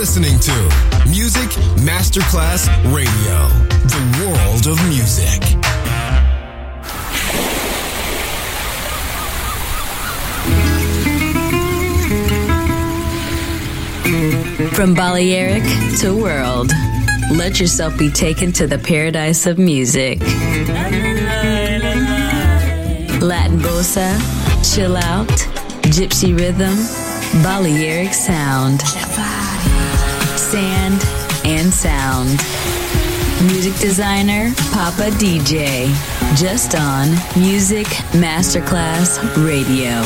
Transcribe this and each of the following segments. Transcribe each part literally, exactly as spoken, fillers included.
listening to Music Masterclass Radio, the world of music. From Balearic to world, let yourself be taken to the paradise of music. Latin bossa, chill out, gypsy rhythm, Balearic sound, sand and sound. Music designer, Papa D J, just on Music Masterclass Radio.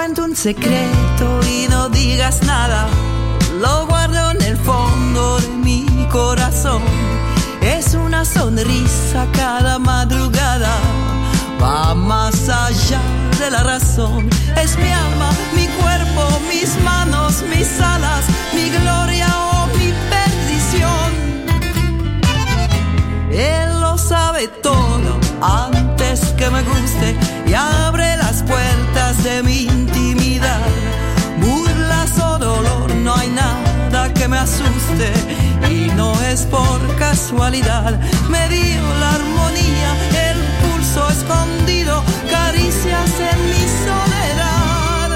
cuento un secreto y no digas nada. Lo guardo en el fondo de mi corazón. Es una sonrisa cada madrugada. Va más allá de la razón. Es mi alma, mi cuerpo, mis manos, mis alas, mi gloria o mi perdición. Él lo sabe todo antes que me guste y abre las puertas de mi intimidad. Burlas o dolor, no hay nada que me asuste y no es por casualidad. Me dio la armonía, el pulso escondido, caricias en mi soledad.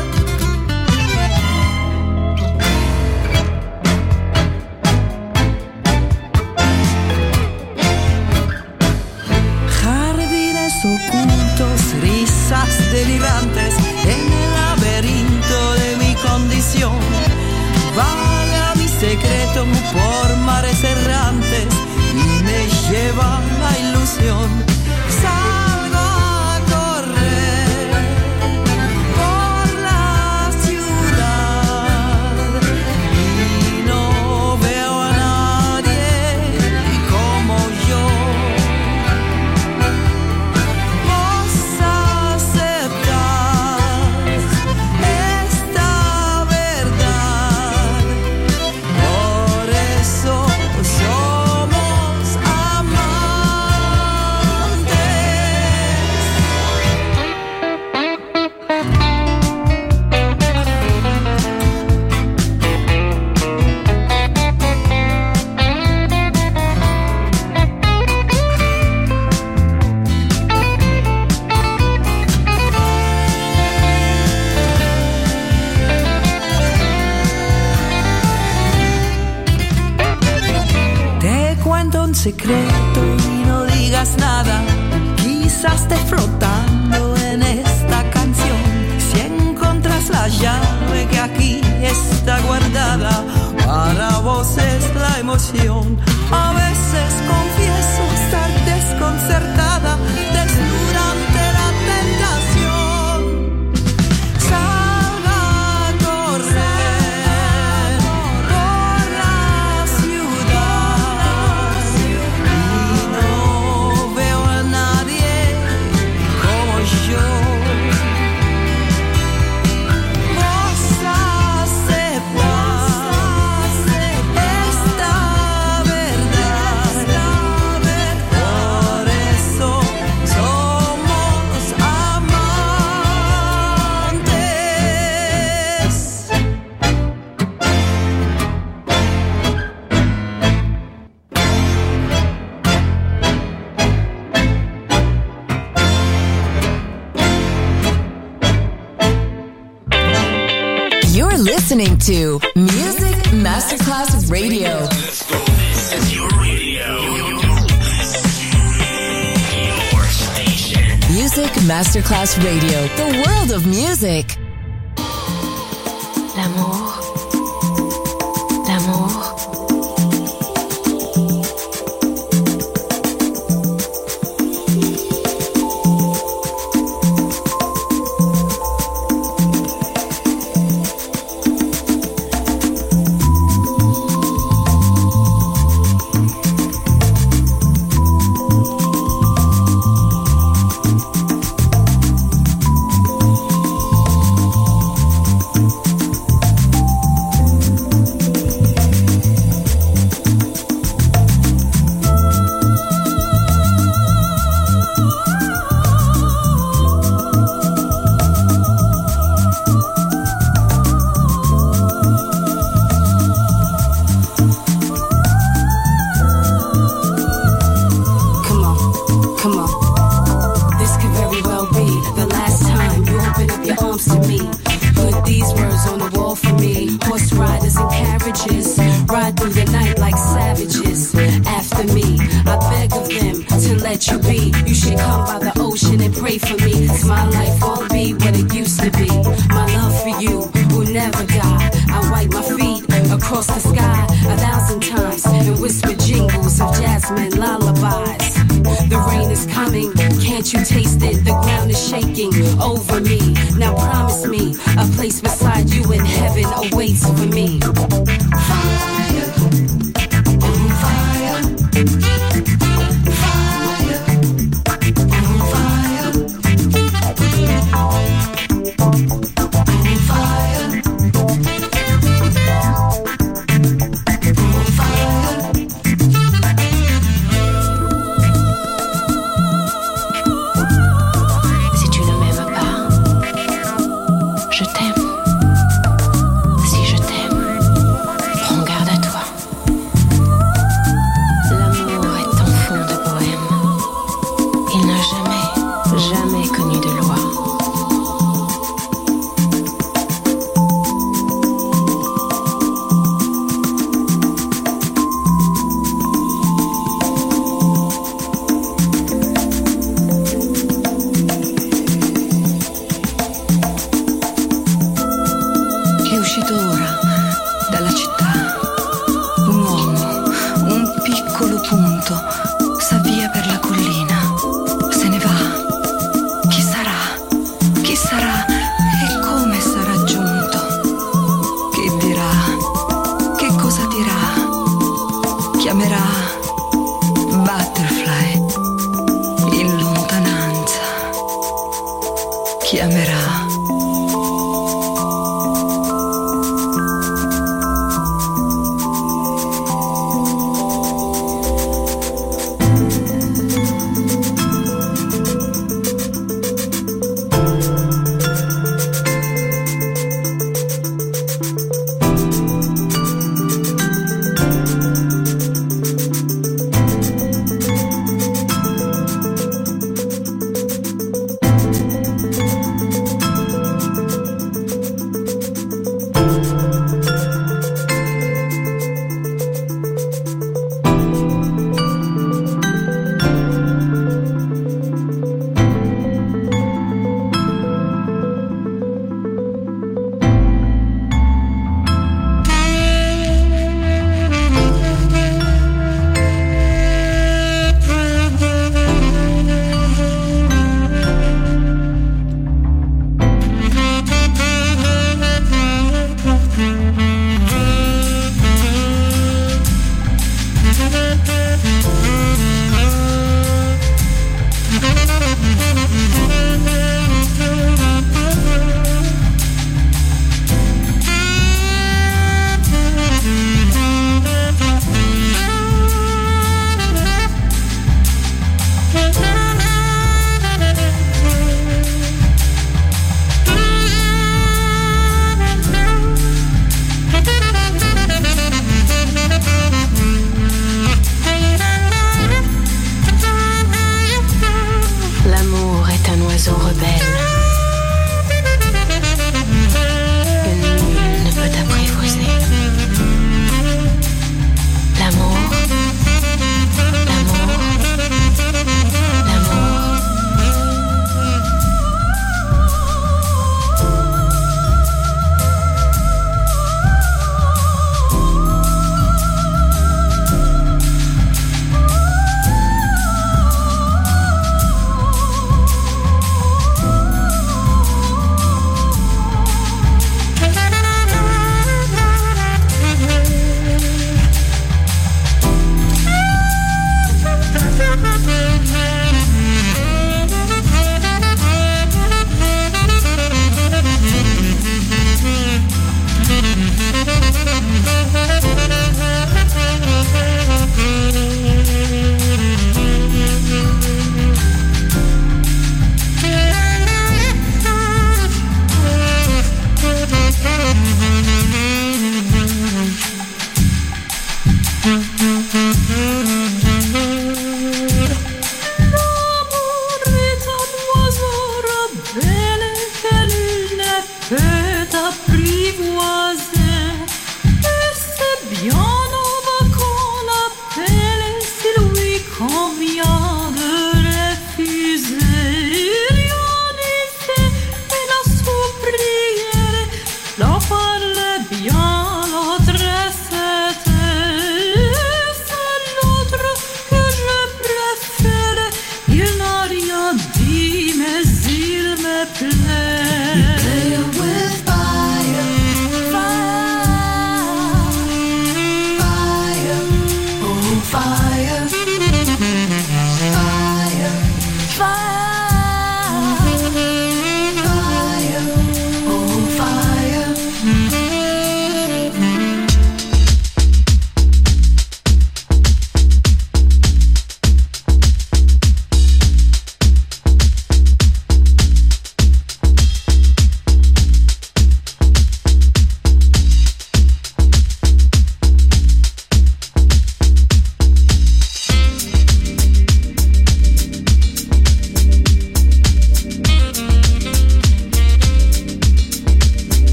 Jardines ocultos, risas delirantes en el laberinto de mi condición. Vaga mi secreto por mares errantes y me lleva la ilusión. Salgo a correr por la ciudad y no veo a nadie como yo. Vos aceptás esta verdad, por eso somos amantes. Te cuento un secreto y no digas nada. Quizás esté flotando en esta canción. Si encontras la llave que aquí está guardada, para vos es la emoción. A veces confieso estar desconcertada, desnuda ante la tentación. Salga a correr por la ciudad y no veo a nadie como yo. Vos aceptás esta verdad, por eso somos amantes. You're listening to Music Masterclass Radio. This is your radio. Your station. Music Masterclass Radio. The world of music. L'amour, l'amour. Come on, come on. This could very well be the last time you open up your arms to me. Put these words on the wall for me. Horse riders and carriages ride through the night like savages. After me, I beg of them to let you be. You should come by the ocean and pray for me. 'Cause my life won't be what it used to be. My love for you will never die. I wipe my feet across the sky a thousand times and whisper jingles of jasmine lullabies. The rain is coming, can't you taste it? The ground is shaking over me. Now promise trust me. A place beside you in heaven awaits for me. Fire, on fire. Fire, on fire. On fire. On fire. Si tu ne m'aimes pas, je t'aime. Si je t'aime, prends garde à toi. L'amour est un fond de bohème. Il n'a jamais, jamais connu de loi. È uscito ora dalla città un uomo, un piccolo punto, sa via per la collina, se ne va. Chi sarà? Chi sarà? E come sarà giunto? Che dirà? Che cosa dirà? Chiamerà Butterfly in lontananza. Chiamerà. L'amour est un oiseau rebelle que nul ne peut apprivoiser. L'amour, l'amour, l'amour.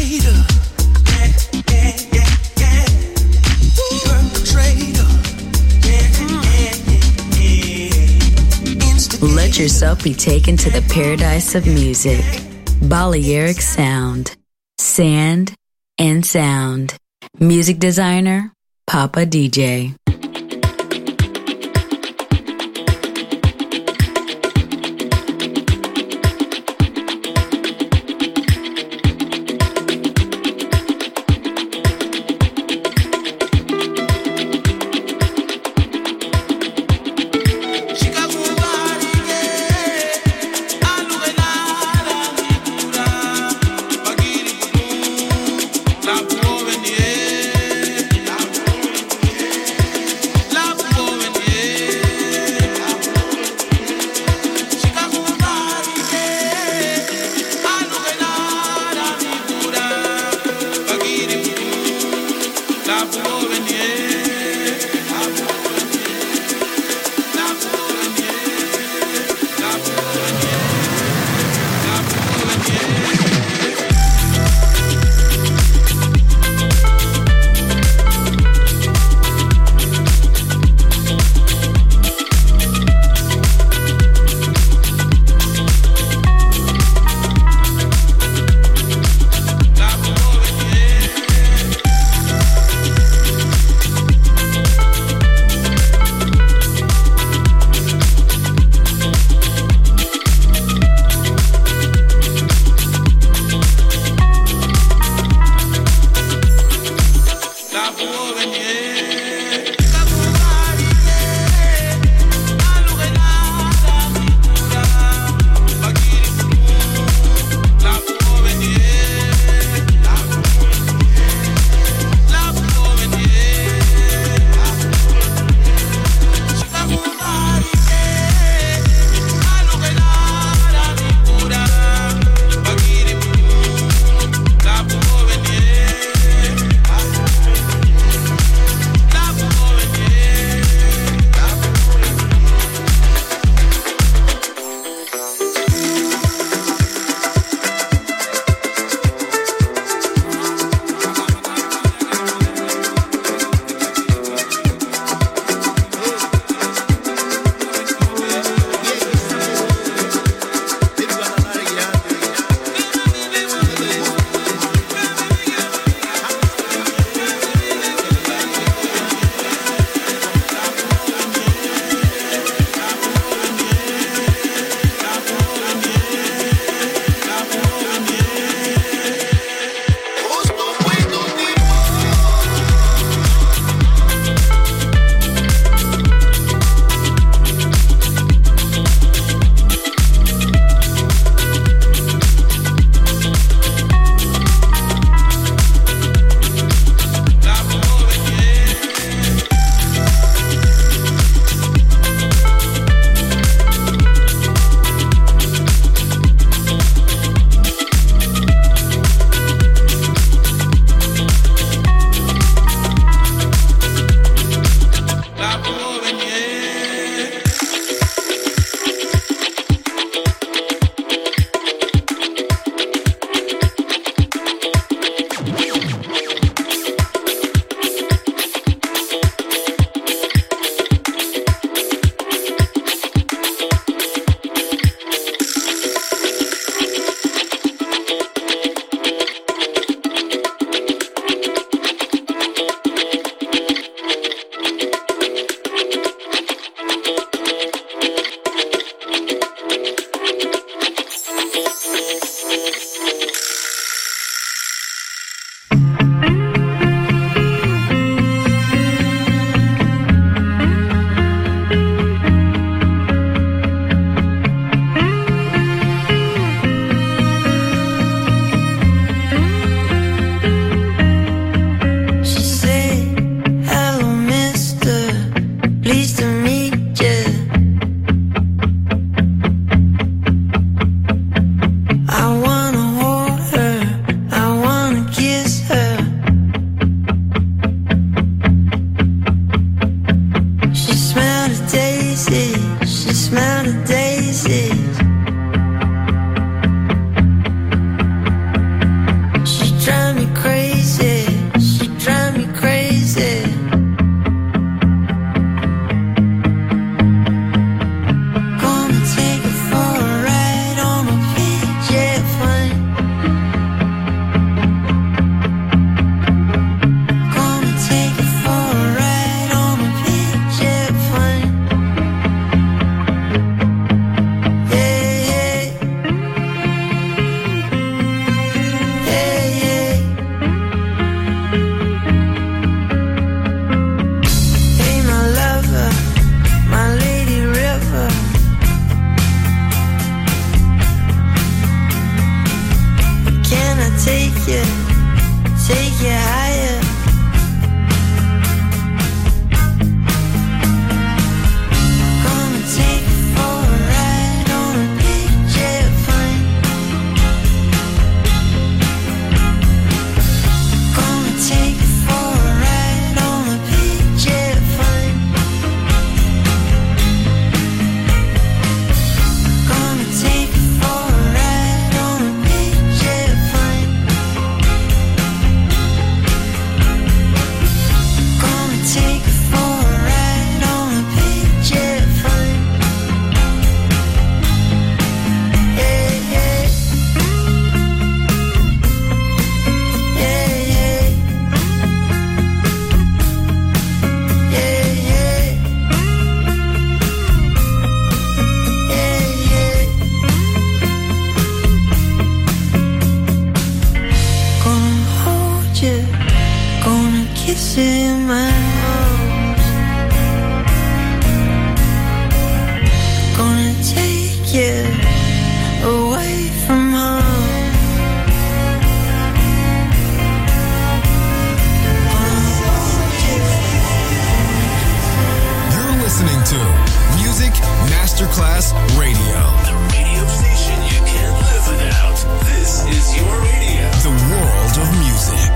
Let yourself be taken to the paradise of music. Balearic Sound. Sand and sound. Music designer, Papa D J. take you higher. Gonna take you for a ride on a big jet plane. Gonna take you for a ride on a big jet plane. Gonna take you for a ride on a big jet plane. Gonna take you for a ride on a big jet plane. Yeah, yeah. Yeah, yeah. Yeah, yeah. Yeah, yeah. Gonna hold you, gonna kiss you in my nose. Gonna take you away from home. Gonna hold you. You're listening to Music Masterclass Radio. The radio station you can't live without. This is your radio. The world of music.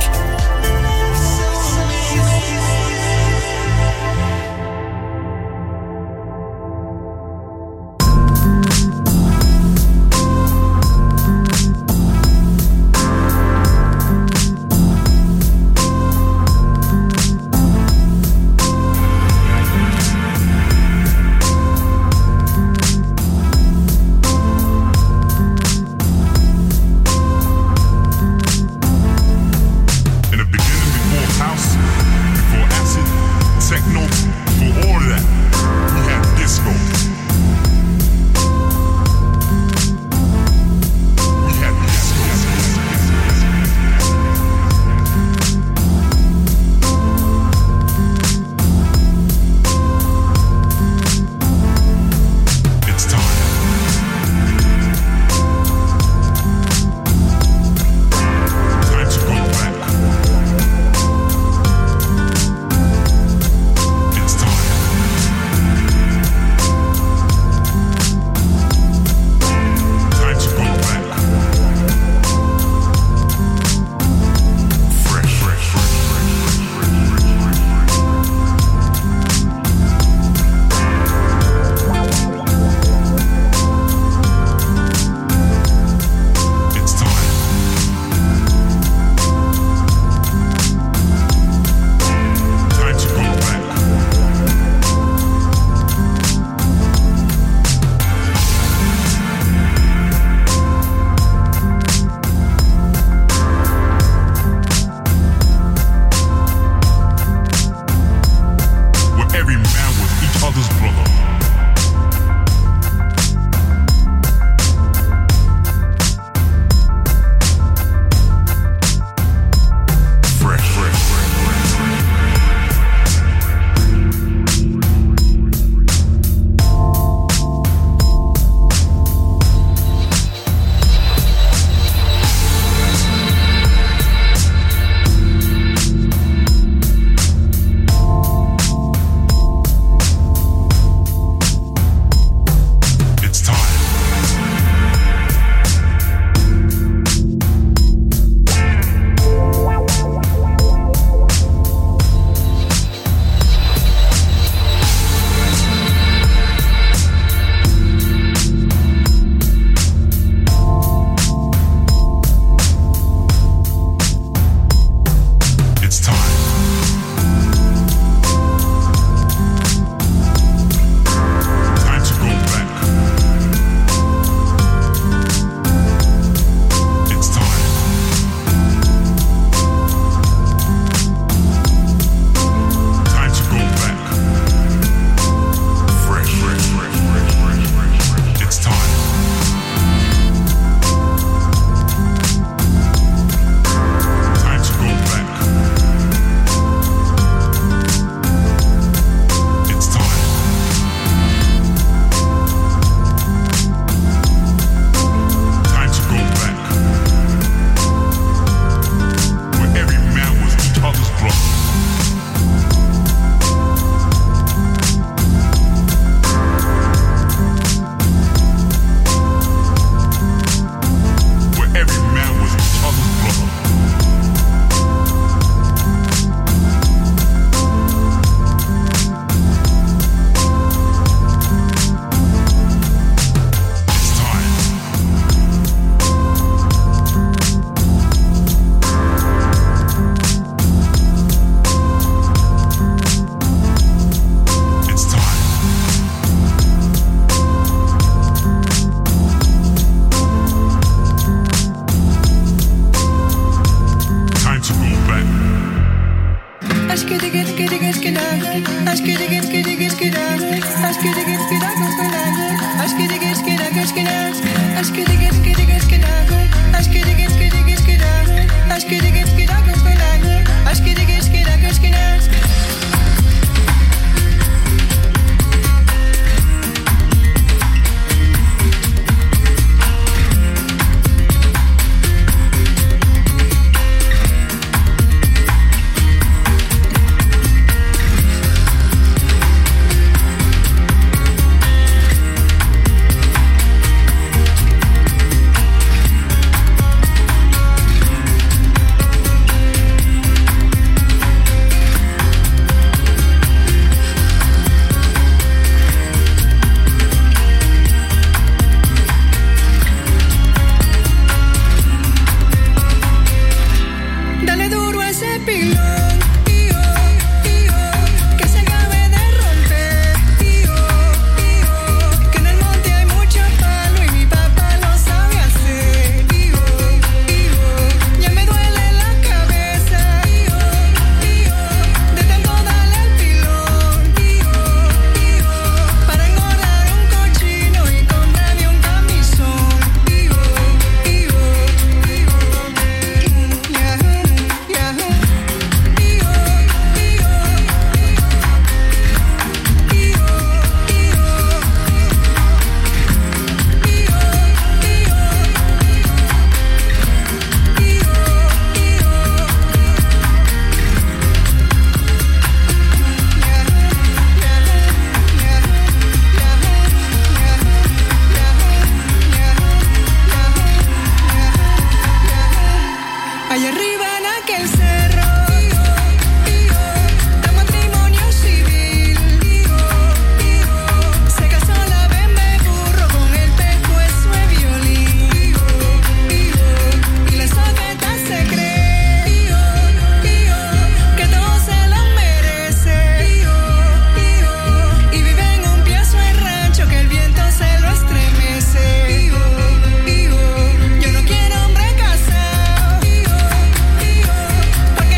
Porque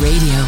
Radio.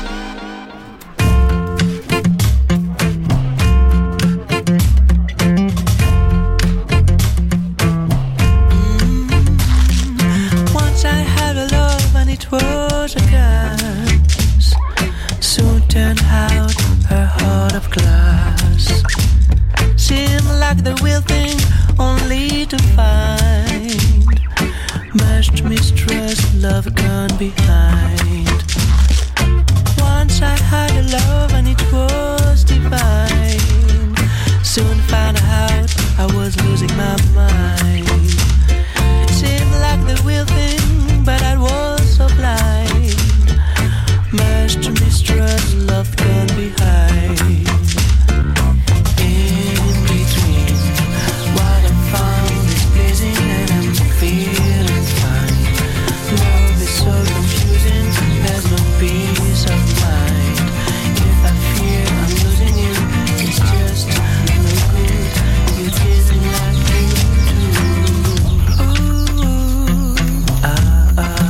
It was a gas, soon turned out her heart of glass. Seemed like the real thing, only to find much mistrust, love gone behind. Once I had a love and it was divine. Soon found out I was losing my mind. Seemed like the real thing, but I was so blind. Much to mistrust, love gone behind. In between, what I found is pleasing and I'm feeling fine. Love is so confusing, there's no peace of mind. If I fear I'm losing you, it's just no good. You didn't like me too. Ooh, ah, ah.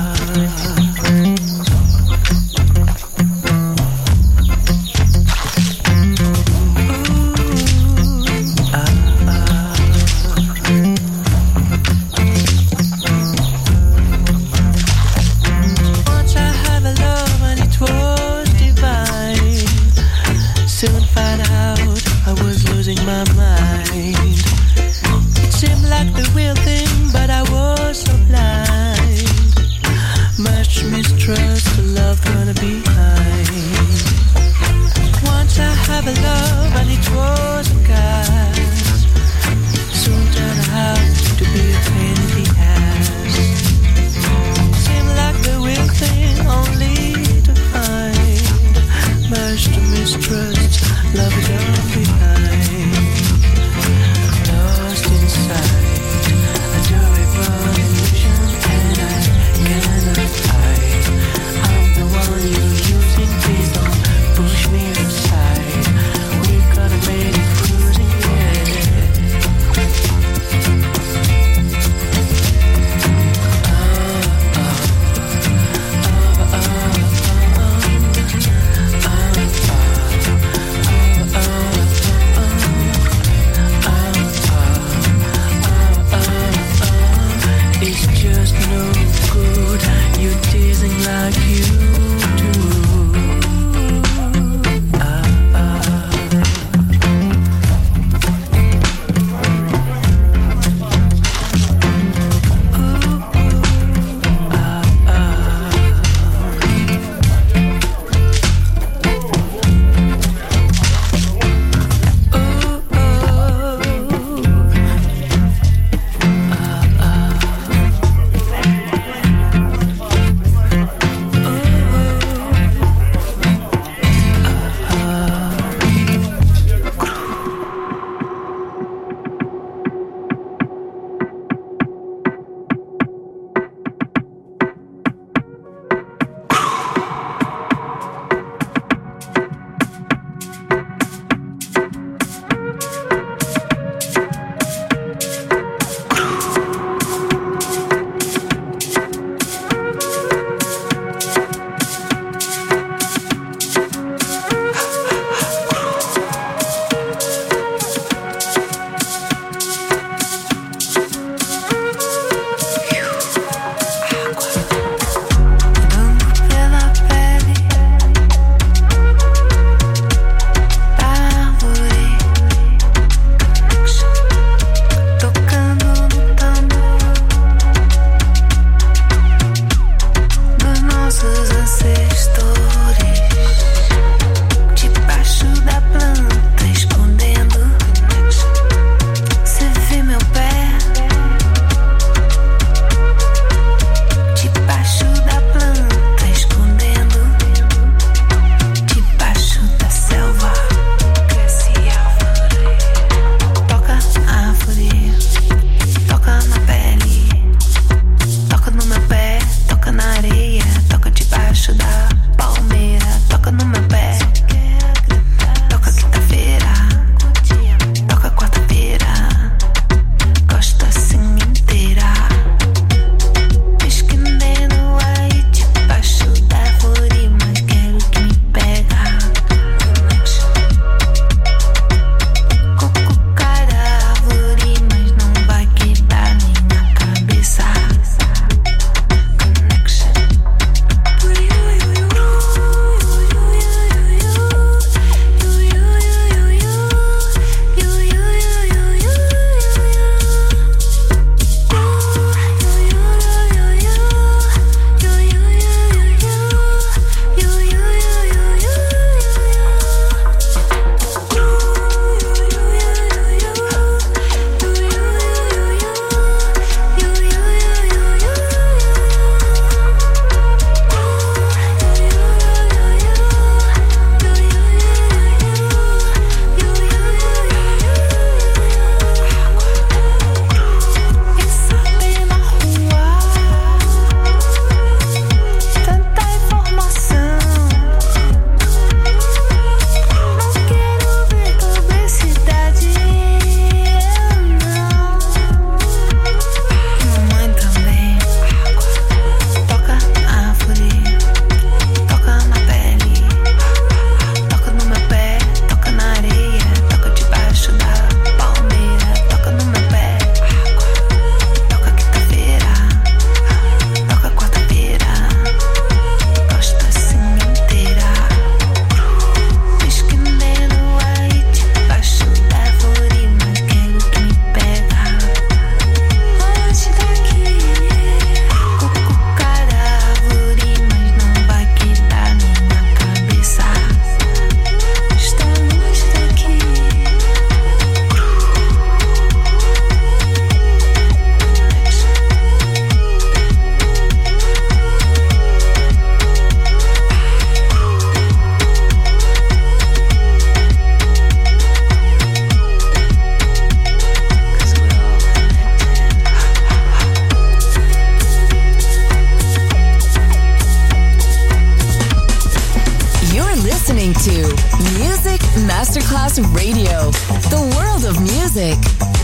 listening to Music Masterclass Radio, the world of music.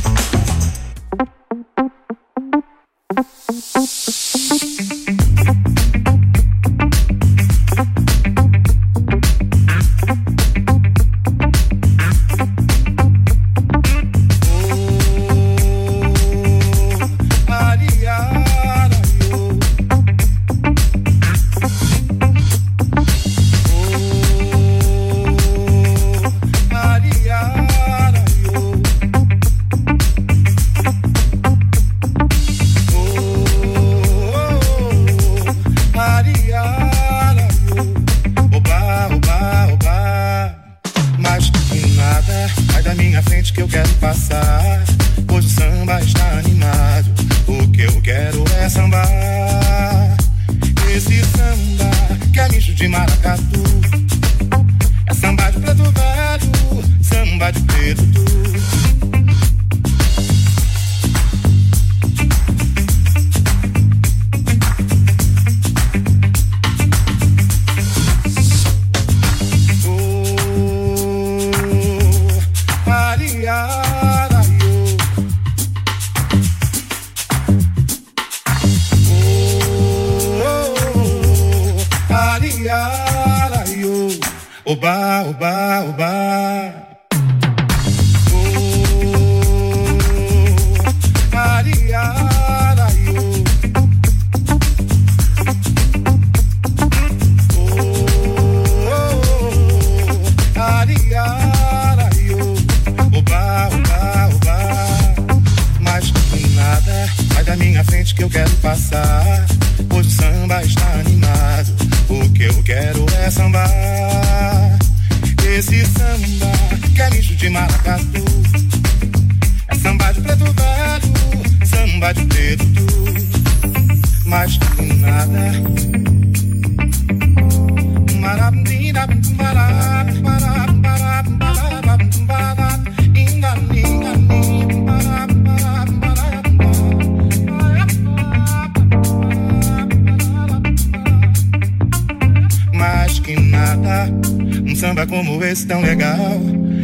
Tão legal,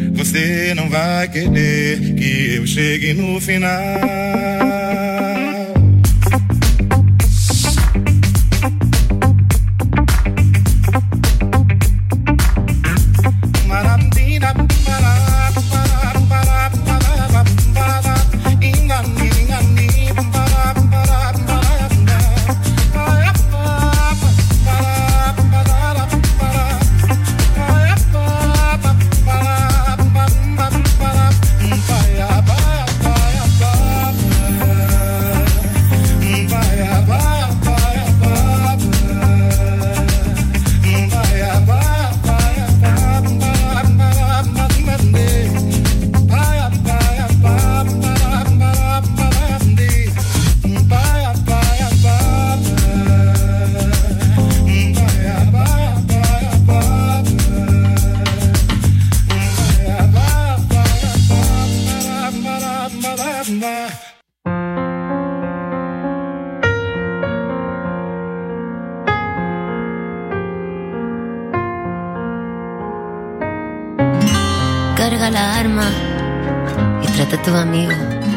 você não vai querer que eu chegue no final. Carga la arma y trata a tu amigo.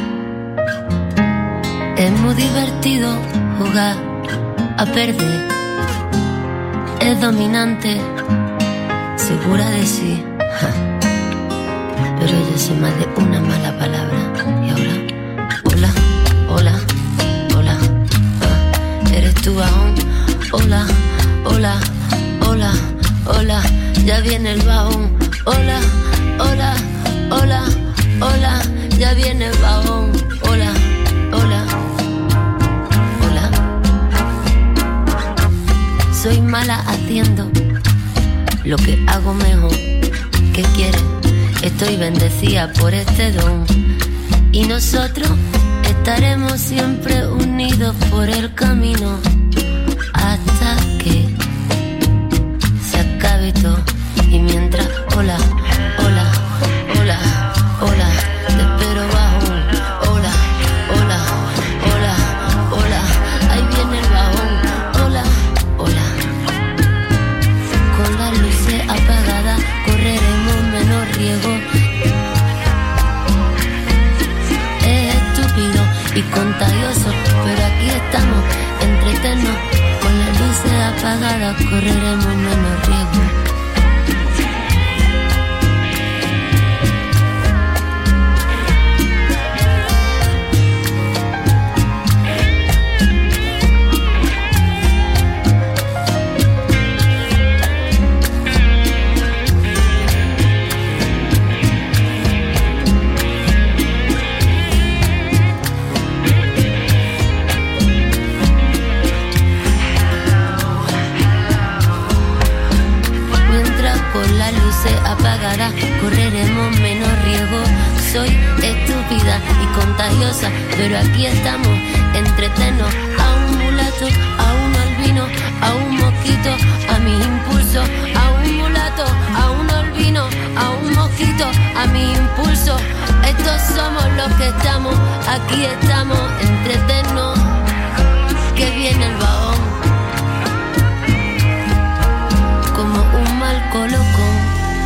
Es muy divertido jugar a perder. Es dominante, segura de sí. Ja. Pero yo sé más de una mala palabra. Y ahora, hola, hola, hola. Ah, ¿eres tú aún? Hola, hola, hola, hola. Ya viene el bajón. Hola, hola, hola, hola. Ya viene el bajón. Hola, hola, hola. Soy mala haciendo lo que hago mejor. ¿Qué quieres? Estoy bendecida por este don. Y nosotros estaremos siempre unidos por el camino hasta que se acabe todo. Y mientras, hola, hola, hola, hola, te espero bajón. Hola, hola, hola, hola, ahí viene el bajón. Hola, hola, con las luces apagadas. poco la luz se apagará, correremos menos riesgo. Soy estúpida y contagiosa, pero aquí estamos, entretenos. A un mulato, a un albino, a un mosquito, a mis impulsos. A un mulato, a un albino, a un mosquito, a mis impulsos. Estos somos los que estamos, aquí estamos, entretenos. Que viene el vagón, como un mal colocón.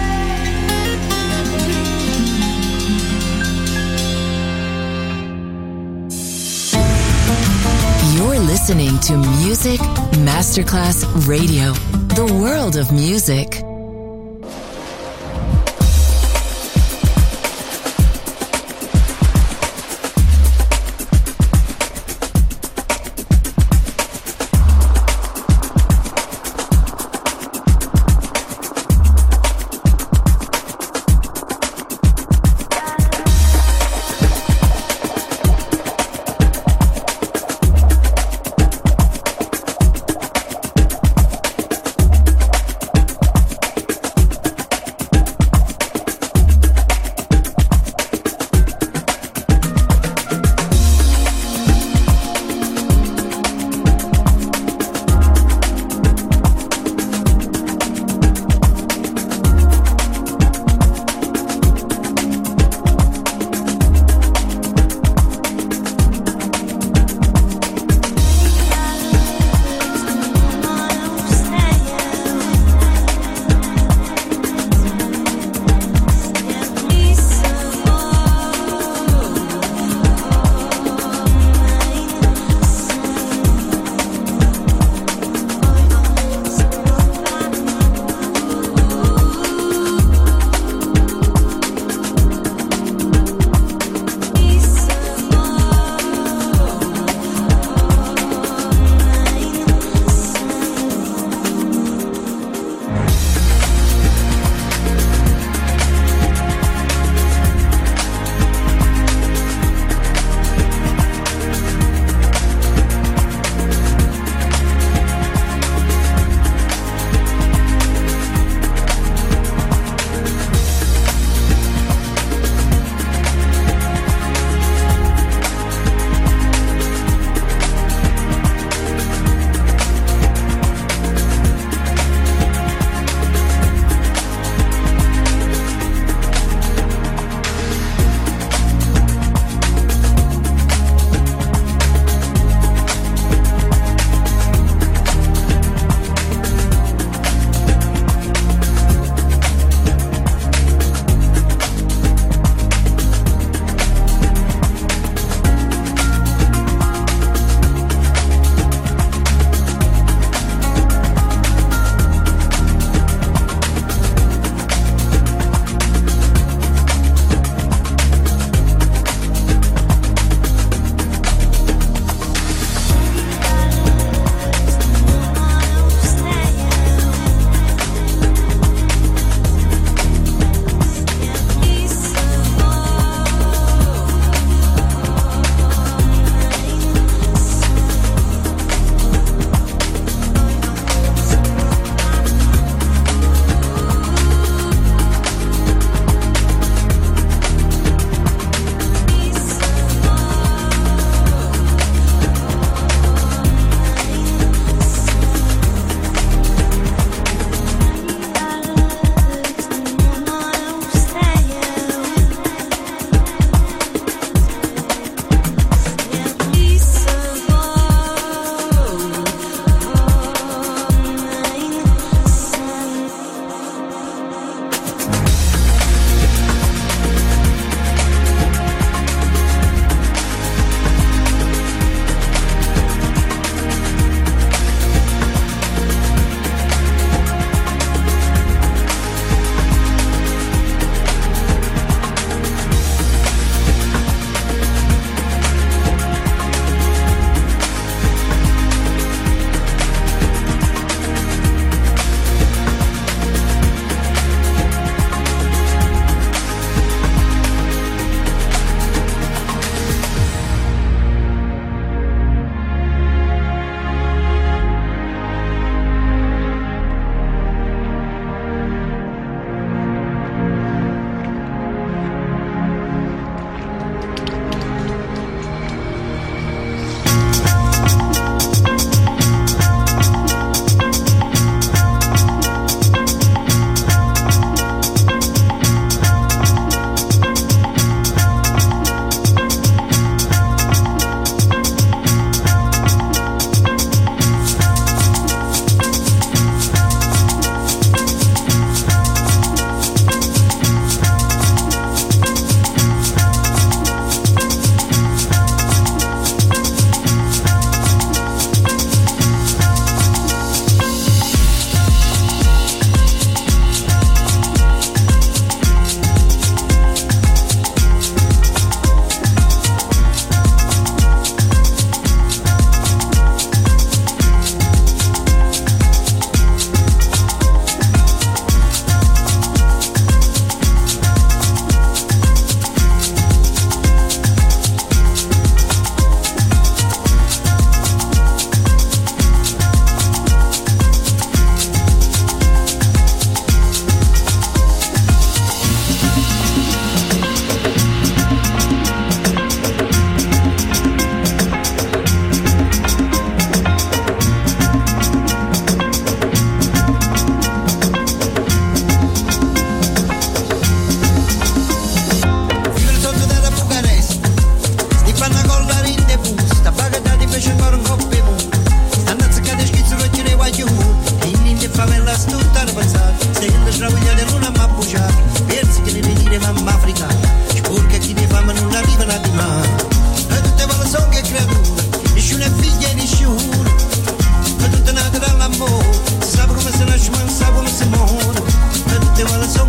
You're listening to Music Masterclass Radio, the world of music.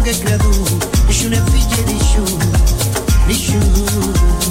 che creatura, nessuno è figlio di nessuno, nessuno.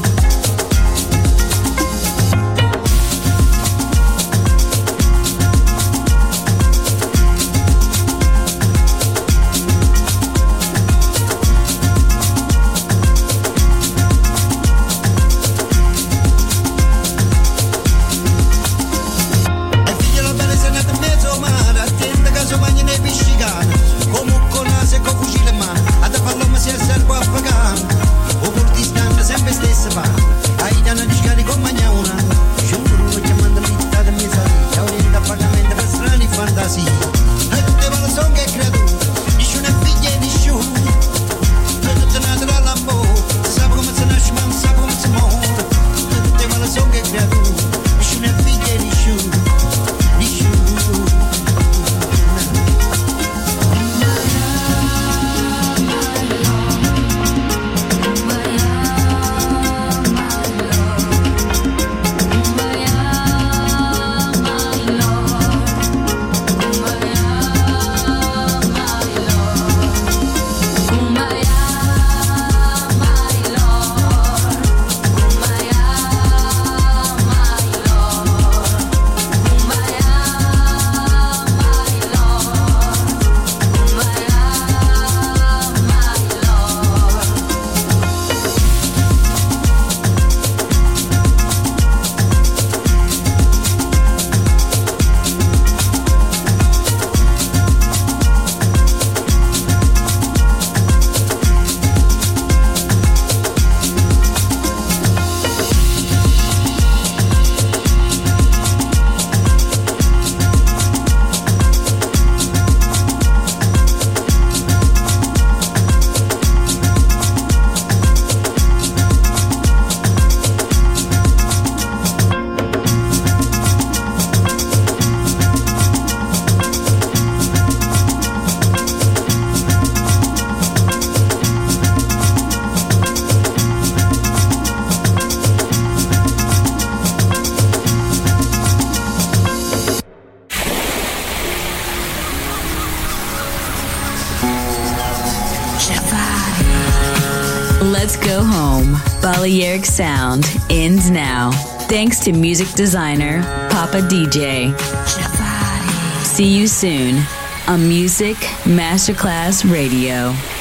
Let's go home. Balearic Sound ends now. Thanks to music designer Papa D J. See you soon on Music Masterclass Radio.